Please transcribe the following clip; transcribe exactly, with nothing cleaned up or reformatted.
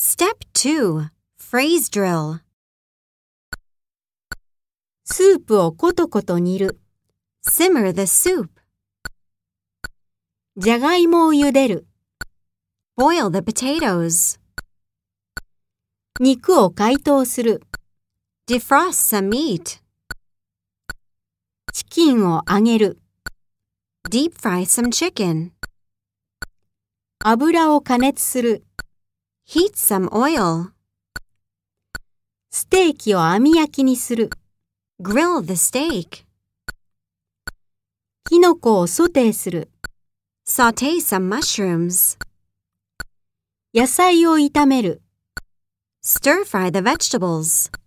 Step two. Phrase drill. スープをコトコト煮る。 Simmer the soup. じゃがいもを茹でる。 Boil the potatoes. 肉を解凍する。 Defrost some meat. チキンを揚げる。 Deep fry some chicken. 油を加熱する。 Heat some oil. ステーキを網焼きにする。 Grill the steak. キノコをソテーする。 Saute some mushrooms. 野菜を炒める。 Stir fry the vegetables.